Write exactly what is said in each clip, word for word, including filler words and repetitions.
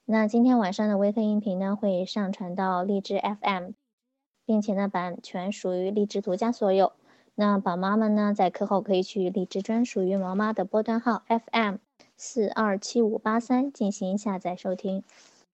那今天晚上的微课音频呢，会上传到荔枝 F M，并且呢，版权属于荔枝独家所有。那宝妈们呢，在课后可以去荔枝专属于毛妈的波段号 F M 四二七五八三进行下载收听。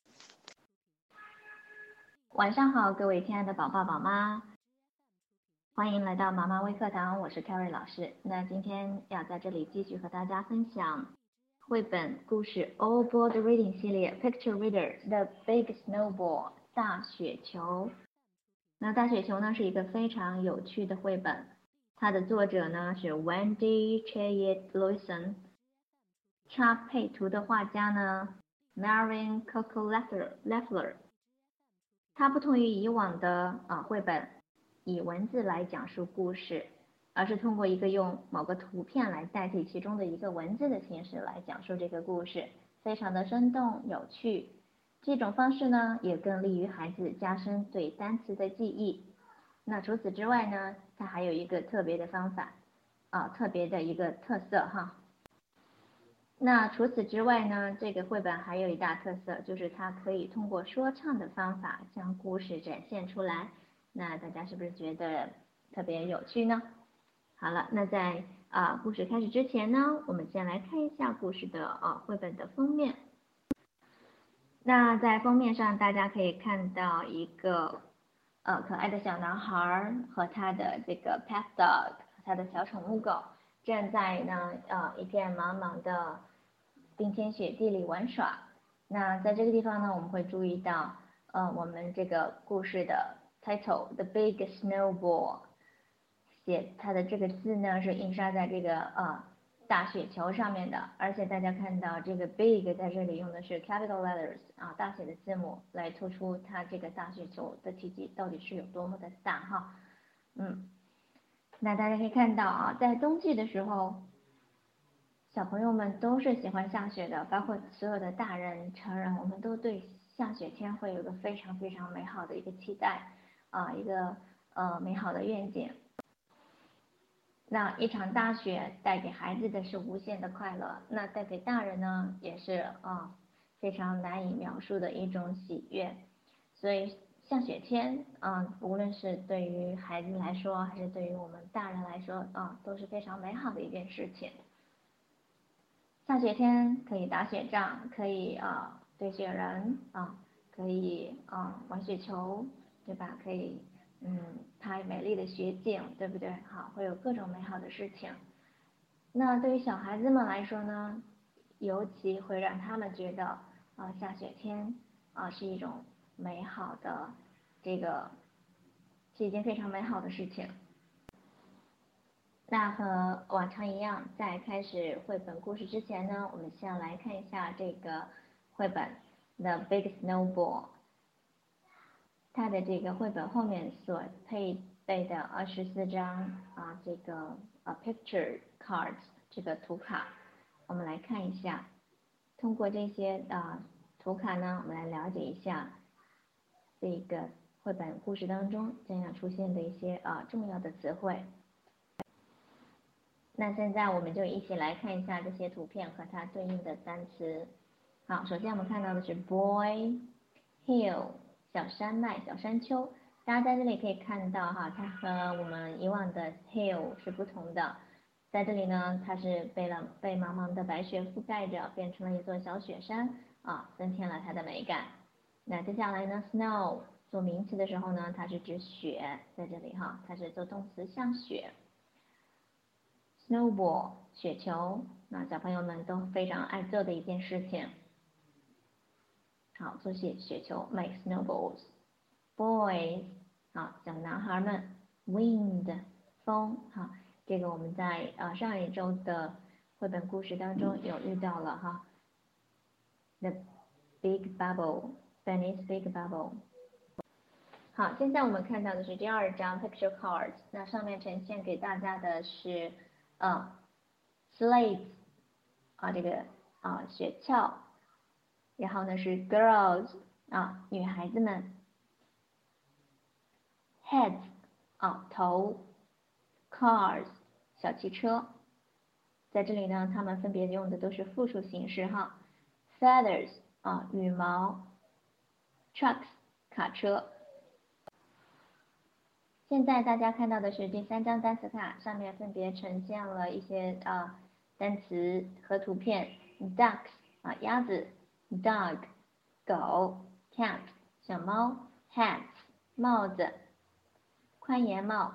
晚上好，各位亲爱的宝宝宝妈，欢迎来到毛妈微课堂，我是 Carrie 老师。那今天要在这里继续和大家分享绘本故事 All Board Reading 系列 Picture Reader The Big Snowball 大雪球。那大雪球呢是一个非常有趣的绘本，它的作者呢是 Wendy Cheyette Lewison， 插配图的画家呢 Marian Coco Leffler。 它不同于以往的啊绘本以文字来讲述故事，而是通过一个用某个图片来代替其中的一个文字的形式来讲述这个故事，非常的生动有趣。这种方式呢，也更利于孩子加深对单词的记忆。那除此之外呢，它还有一个特别的方法，啊，特别的一个特色哈。那除此之外呢，这个绘本还有一大特色，就是它可以通过说唱的方法将故事展现出来。那大家是不是觉得特别有趣呢？好了，那在啊故事开始之前呢，我们先来看一下故事的啊绘本的封面。那在封面上，大家可以看到一个呃可爱的小男孩和他的这个 pet dog， 他的小宠物狗，正在呢呃一片茫茫的冰天雪地里玩耍。那在这个地方呢，我们会注意到呃我们这个故事的 title The Big Snowball， 写它的这个字呢是印刷在这个呃大雪球上面的，而且大家看到这个 big 在这里用的是 capital letters 啊，大写的字母来突出它这个大雪球的体积到底是有多么的大哈。嗯，那大家可以看到啊，在冬季的时候，小朋友们都是喜欢下雪的，包括所有的大人成人，我们都对下雪天会有个非常非常美好的一个期待啊，一个呃美好的愿景。那一场大雪带给孩子的是无限的快乐，那带给大人呢也是啊非常难以描述的一种喜悦。所以下雪天啊，无论是对于孩子来说，还是对于我们大人来说啊，都是非常美好的一件事情。下雪天可以打雪仗，可以啊堆雪人啊，可以啊玩雪球，对吧？可以嗯拍美丽的雪景，对不对？好，会有各种美好的事情。那对于小孩子们来说呢，尤其会让他们觉得啊下雪天啊是一种美好的这个是一件非常美好的事情。那和往常一样，在开始绘本故事之前呢，我们先来看一下这个绘本《The Big Snowball》，它的这个绘本后面所配备的二十四张啊这个啊 picture cards 这个图卡，我们来看一下。通过这些啊图卡呢，我们来了解一下这个绘本故事当中将要出现的一些啊重要的词汇。那现在我们就一起来看一下这些图片和它对应的单词。好，首先我们看到的是 boy hill 小山脉、小山丘。大家在这里可以看到哈，它和我们以往的 hill 是不同的。在这里呢，它是被了被茫茫的白雪覆盖着，变成了一座小雪山啊，增添了它的美感。那接下来呢 ，snow 做名词的时候呢，它是指雪，在这里哈，它是做动词像雪。snowball 雪球，那小朋友们都非常爱做的一件事情。好，做雪雪球 make snowballs。boys 好，小男孩们 wind 风好，这个我们在呃上一周的绘本故事当中有遇到了哈。The big bubble Benny's big bubble。好，现在我们看到的是第二张 picture cards， 那上面呈现给大家的是呃 slate 啊这个啊雪橇，然后呢是 girls 啊女孩子们 heads 啊头 cars 小汽车，在这里呢他们分别用的都是复数形式哈。feathers 啊，羽毛 trucks 卡车。现在大家看到的是第三张单词卡，上面分别呈现了一些啊单词和图片 ducks 啊鸭子 dog 狗 cat 小猫 hats 帽子宽檐帽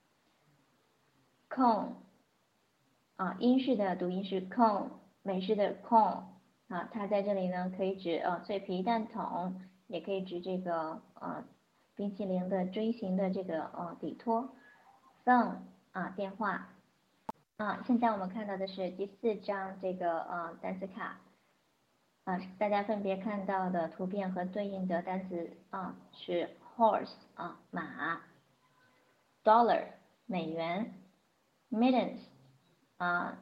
cone 啊英式的读音是 cone， 美式的 cone 啊，它在这里呢可以指呃脆皮蛋筒，也可以指这个呃冰淇淋的锥形的这个呃底托 phone 啊电话啊。现在我们看到的是第四张这个呃单词卡啊，大家分别看到的图片和对应的单词啊是 horse 啊马 dollar 美元 mittens 啊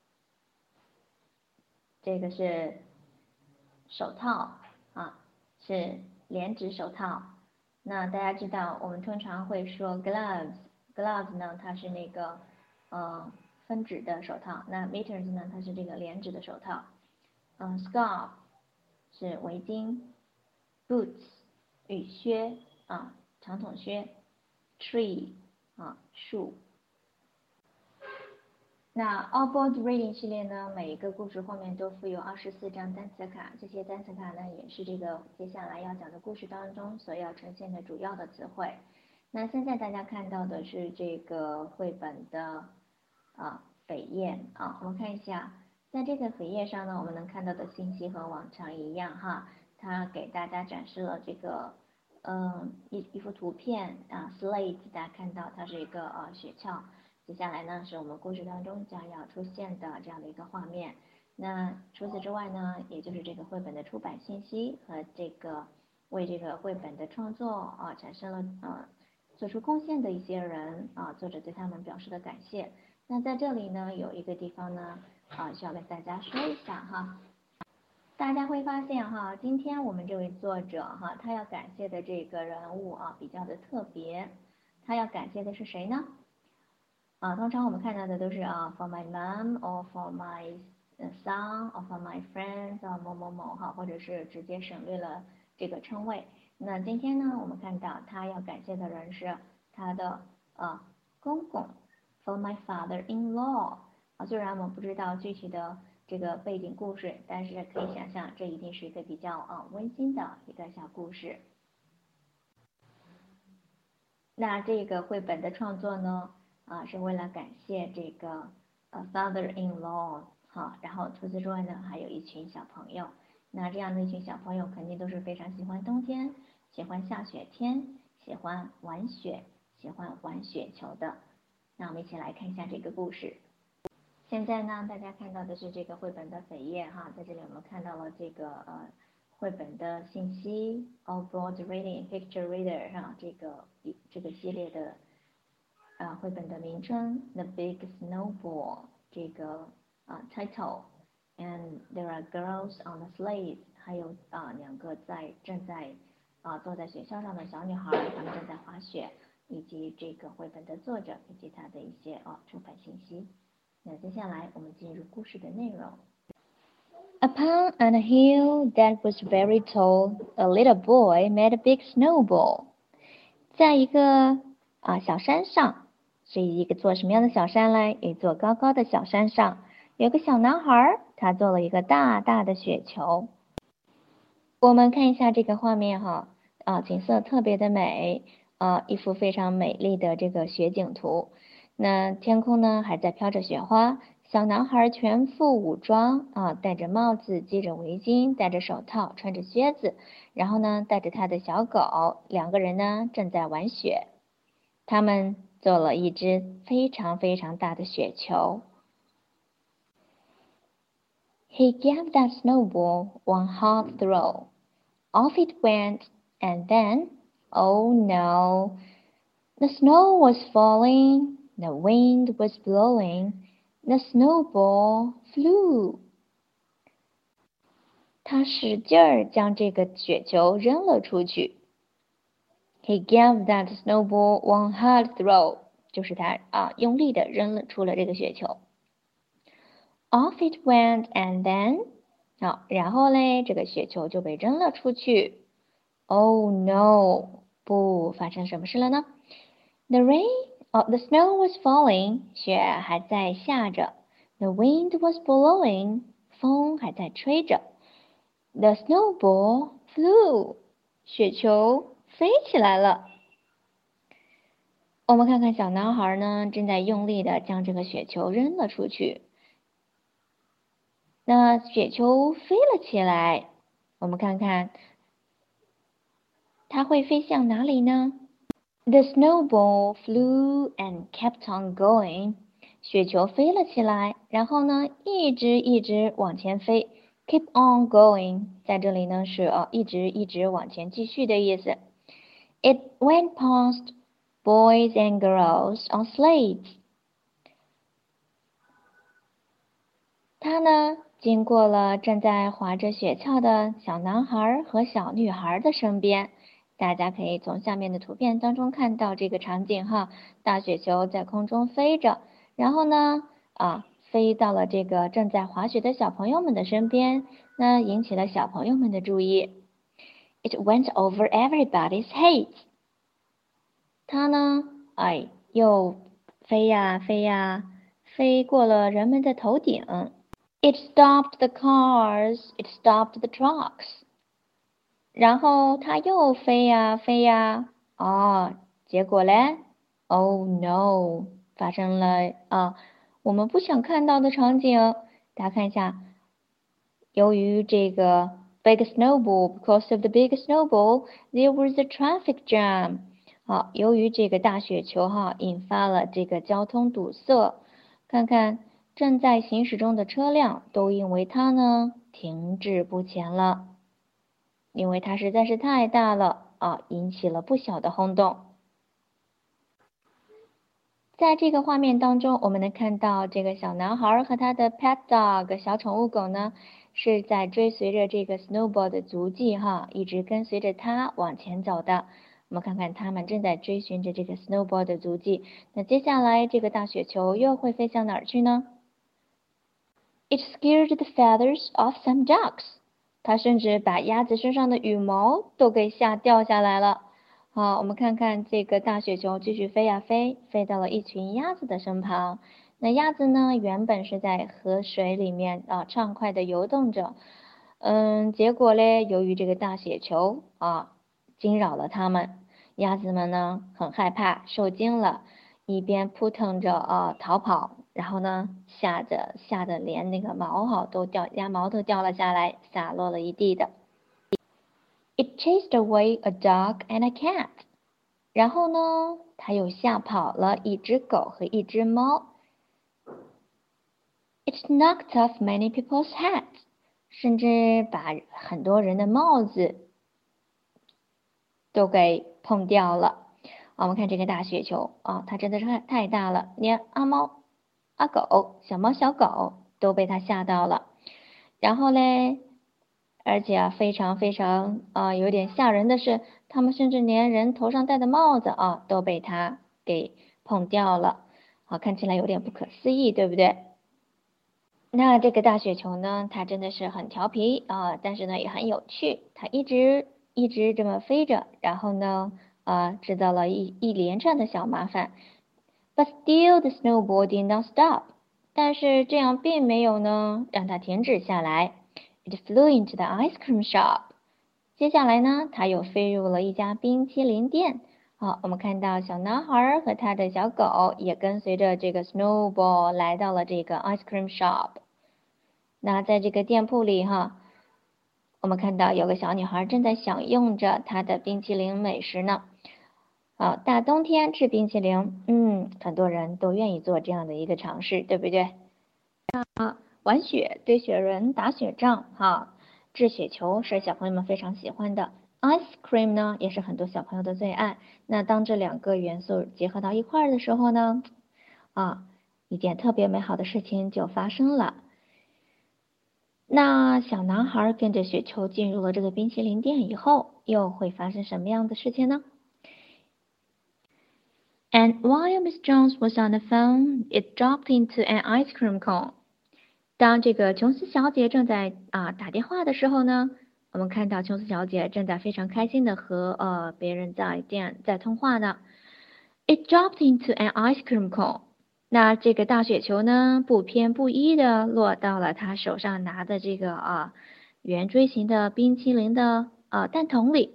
这个是手套啊，是连指手套。那大家知道，我们通常会说 gloves，gloves 呢，它是那个呃分指的手套。那 mittens 呢，它是这个连指的手套。嗯 ，scarf 是围巾 ，boots 雨靴啊，长筒靴 ，tree 啊树。那 All Board Reading 系列呢，每一个故事后面都附有二十四张单词卡，这些单词卡呢，也是这个接下来要讲的故事当中所要呈现的主要的词汇。那现在大家看到的是这个绘本的啊扉页啊，我们看一下，在这个扉页上呢，我们能看到的信息和往常一样哈，它给大家展示了这个嗯一一幅图片啊 ，slate， 大家看到它是一个呃雪橇。接下来呢，是我们故事当中将要出现的这样的一个画面。那除此之外呢，也就是这个绘本的出版信息和这个为这个绘本的创作啊产生了呃做出贡献的一些人啊，作者对他们表示的感谢。那在这里呢，有一个地方呢啊需要跟大家说一下哈。大家会发现哈，今天我们这位作者哈，他要感谢的这个人物啊比较的特别，他要感谢的是谁呢？啊，通常我们看到的都是啊 for my mom or for my son or for my friends or 某某某哈，或者是直接省略了这个称谓。那今天呢，我们看到他要感谢的人是他的呃公公 for my father-in-law 啊，虽然我们不知道具体的这个背景故事，但是可以想象这一定是一个比较啊温馨的一个小故事。那这个绘本的创作呢？啊，是为了感谢这个呃 father-in-law 好，然后除此之外呢，还有一群小朋友。那这样的一群小朋友肯定都是非常喜欢冬天，喜欢下雪天，喜欢玩雪，喜欢玩雪球的。那我们一起来看一下这个故事。现在呢，大家看到的是这个绘本的扉页哈，在这里我们看到了这个呃绘本的信息 ，All Board Reading Picture Reader 哈，这个这个系列的。啊，绘本的名称 The Big Snowball 这个啊 title，and there are girls on the sleigh， 还有啊两个在正在啊坐在雪橇上的小女孩，她们正在滑雪，以及这个绘本的作者以及他的一些啊出版信息。那接下来我们进入故事的内容。Upon a hill that was very tall, a little boy made a big snowball。在一个啊小山上。是一个座什么样的小山嘞？一座高高的小山上，有个小男孩，他做了一个大大的雪球。我们看一下这个画面哈，啊，景色特别的美，啊，一幅非常美丽的这个雪景图。那天空呢还在飘着雪花，小男孩全副武装啊，戴着帽子，系着围巾，戴着手套，穿着靴子，然后呢带着他的小狗，两个人呢正在玩雪。他们做了一只非常非常大的雪球。He gave that snowball one hard throw. Off it went, and then, oh no, the snow was falling, the wind was blowing, the snowball flew. 他使劲儿将这个雪球扔了出去。He gave that snowball one hard throw， 就是他啊用力的扔了出了这个雪球。Off it went, and then 好，然后嘞，这个雪球就被扔了出去。Oh no！不，发生什么事了呢？ The rain, oh, the snow was falling. 雪还在下着。The wind was blowing. 风还在吹着。The snowball flew. 雪球飞起来了。我们看看小男孩呢，正在用力的将这个雪球扔了出去。那雪球飞了起来，我们看看它会飞向哪里呢？ The snowball flew and kept on going. 雪球飞了起来，然后呢，一直一直往前飞。Keep on going， 在这里呢是呃一直一直往前继续的意思。It went past boys and girls on sleds. 它呢经过了正在滑着雪橇的小男孩和小女孩的身边。大家可以从下面的图片当中看到这个场景哈，大雪球在空中飞着，然后呢啊飞到了这个正在滑雪的小朋友们的身边，那引起了小朋友们的注意。It went over everybody's heads. 它呢哎又飞呀飞呀飞过了人们的头顶。It stopped the cars. It stopped the trucks. 然后它又飞呀飞呀，哦，结果嘞 ，Oh no，发生了啊，我们不想看到的场景。大家看一下，由于这个 big snowball, because of the big snowball, there was a traffic jam。好，由于这个大雪球哈，引发了这个交通堵塞。看看正在行驶中的车辆都因为它呢停滞不前了。因为它实在是太大了啊，引起了不小的轰动。在这个画面当中，我们能看到这个小男孩和他的 pet dog 小宠物狗呢，是在追随着这个 snowball 的足迹哈，一直跟随着它往前走的。我们看看他们正在追寻着这个 snowball 的足迹。那接下来这个大雪球又会飞向哪儿去呢？ It scared the feathers off some ducks. 它甚至把鸭子身上的羽毛都给吓掉下来了。好，我们看看这个大雪球继续飞呀飞，飞到了一群鸭子的身旁。那鸭子呢，原本是在河水里面啊畅快的游动着，嗯，结果嘞，由于这个大雪球啊惊扰了它们，鸭子们呢很害怕，受惊了，一边扑腾着啊逃跑，然后呢吓得吓得连那个毛哈都掉，鸭毛都掉了下来，洒落了一地的。It chased away a dog and a cat. 然后呢，它又吓跑了一只狗和一只猫。It knocked off many people's hats. 甚至把很多人的帽子都给碰掉了。啊，我们看这个大雪球啊，它真的是太太大了，连阿猫、阿狗、小猫、小狗都被它吓到了。然后嘞，而且啊，非常非常啊，有点吓人的是，他们甚至连人头上戴的帽子啊，都被它给碰掉了。好，看起来有点不可思议，对不对？那这个大雪球呢，它真的是很调皮啊，但是呢也很有趣。它一直一直这么飞着，然后呢，啊，制造了一一连串的小麻烦。But still the snowball did not stop. 但是这样并没有呢让它停止下来。It flew into the ice cream shop. 接下来呢，它又飞入了一家冰淇淋店。好，我们看到小男孩和他的小狗也跟随着这个 snowball 来到了这个 ice cream shop。那在这个店铺里哈，我们看到有个小女孩正在享用着她的冰淇淋美食呢。好，大冬天吃冰淇淋，嗯，很多人都愿意做这样的一个尝试，对不对？啊，玩雪、堆雪人、打雪仗，哈，掷雪球是小朋友们非常喜欢的。Ice cream 呢，也是很多小朋友的最爱。那当这两个元素结合到一块儿的时候呢，啊，一件特别美好的事情就发生了。那小男孩跟着雪球进入了这个冰淇淋店以后，又会发生什么样的事情呢？ And while Miss Jones was on the phone, it dropped into an ice cream cone. 当这个琼斯小姐正在啊打电话的时候呢，我们看到琼斯小姐正在非常开心的和呃别人在电在通话呢。It dropped into an ice cream cone。那这个大雪球呢，不偏不倚的落到了他手上拿的这个啊圆锥形的冰淇淋的呃蛋筒里。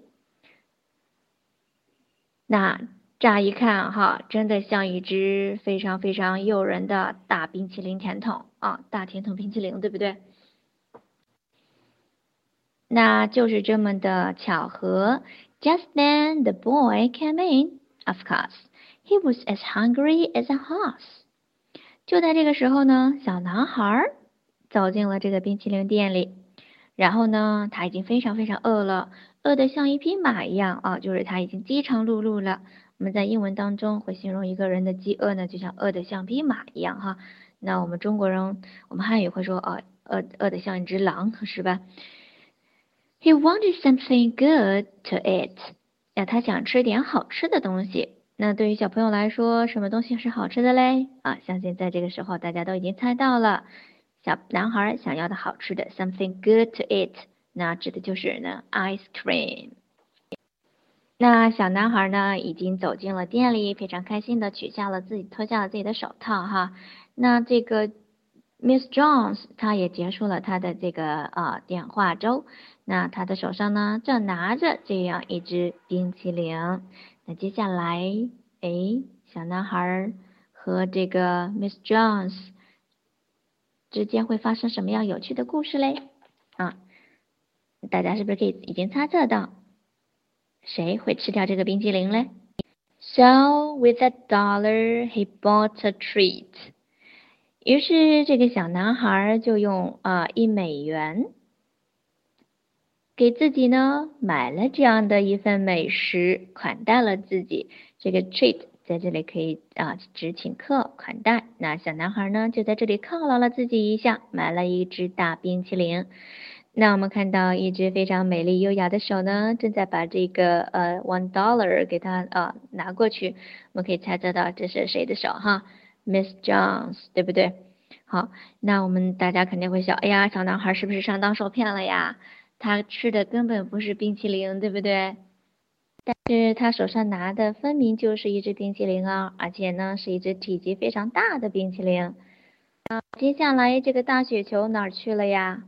那乍一看哈，真的像一只非常非常诱人的大冰淇淋甜筒啊，大甜筒冰淇淋，对不对？那就是这么的巧合。Just then the boy came in. Of course, he was as hungry as a horse. 就在这个时候呢，小男孩走进了这个冰淇淋店里。然后呢，他已经非常非常饿了，饿得像一匹马一样啊，就是他已经饥肠辘辘了。我们在英文当中会形容一个人的饥饿呢，就像饿得像匹马一样哈。那我们中国人，我们汉语会说啊，饿饿得像一只狼，是吧？He wanted something good to eat。呀，他想吃点好吃的东西。那对于小朋友来说，什么东西是好吃的嘞？啊，相信在这个时候大家都已经猜到了。小男孩想要的好吃的 something good to eat， 那指的就是呢 ice cream。那小男孩呢已经走进了店里，非常开心的取下了自己脱下了自己的手套哈。那这个 Miss Jones 她也结束了她的这个呃电话粥。那她的手上呢正拿着这样一只冰淇淋。那接下来，诶，小男孩和这个 Miss Jones 之间会发生什么样有趣的故事嘞？啊，大家是不是可以已经猜测到谁会吃掉这个冰淇淋嘞？ So with a dollar, he bought a treat. 于是这个小男孩就用啊、呃、一美元给自己呢买了这样的一份美食，款待了自己。这个 treat 在这里可以啊指请客款待。那小男孩呢就在这里犒劳了自己一下，买了一只大冰淇淋。那我们看到一只非常美丽优雅的手呢，正在把这个呃 one dollar 给他啊拿过去。我们可以猜测到这是谁的手哈 ，Miss Jones 对不对？好，那我们大家肯定会想，哎呀，小男孩是不是上当受骗了呀？他吃的根本不是冰淇淋，对不对？但是他手上拿的分明就是一只冰淇淋啊，而且呢是一只体积非常大的冰淇淋。接下来这个大雪球哪儿去了呀？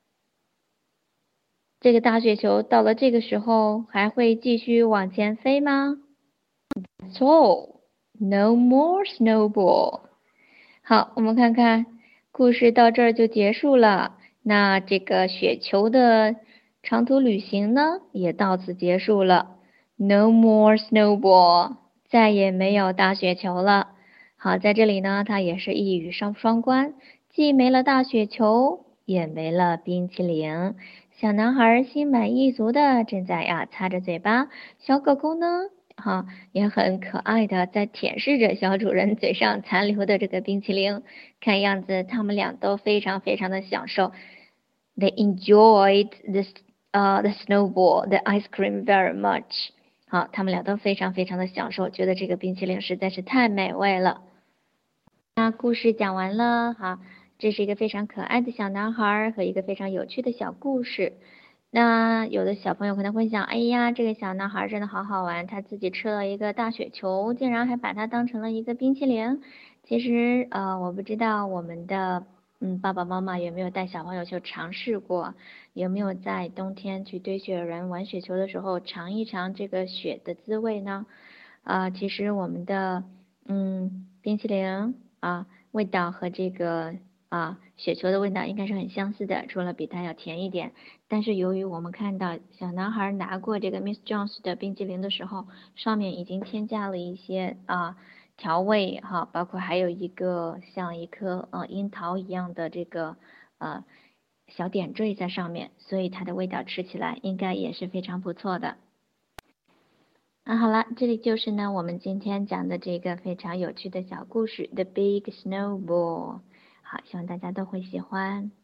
这个大雪球到了这个时候还会继续往前飞吗？ So, no more snowball。好，我们看看故事到这儿就结束了。那这个雪球的长途旅行呢，也到此结束了。No more snowball， 再也没有大雪球了。好，在这里呢，它也是一语双双关，既没了大雪球，也没了冰淇淋。小男孩心满意足的正在呀擦着嘴巴，小狗狗呢，哈，也很可爱的在舔舐着小主人嘴上残留的这个冰淇淋。看样子他们俩都非常非常的享受。They enjoyed this 呃、uh, the snowball, the ice cream very much。好，他们俩都非常非常的享受，觉得这个冰淇淋实在是太美味了。那故事讲完了，好。这是一个非常可爱的小男孩和一个非常有趣的小故事。那有的小朋友可能会想，哎呀，这个小男孩真的好好玩，他自己吃了一个大雪球，竟然还把它当成了一个冰淇淋。其实呃，我不知道我们的嗯爸爸妈妈有没有带小朋友去尝试过，有没有在冬天去堆雪人玩雪球的时候尝一尝这个雪的滋味呢？啊、呃，其实我们的嗯冰淇淋啊味道和这个啊，雪球的味道应该是很相似的，除了比它要甜一点。但是由于我们看到小男孩拿过这个 Miss Jones 的冰淇淋的时候，上面已经添加了一些啊调味哈，包括还有一个像一颗呃樱桃一样的这个呃小点缀在上面，所以它的味道吃起来应该也是非常不错的。啊，好了，这里就是呢我们今天讲的这个非常有趣的小故事，The Big Snowball。好，希望大家都会喜欢。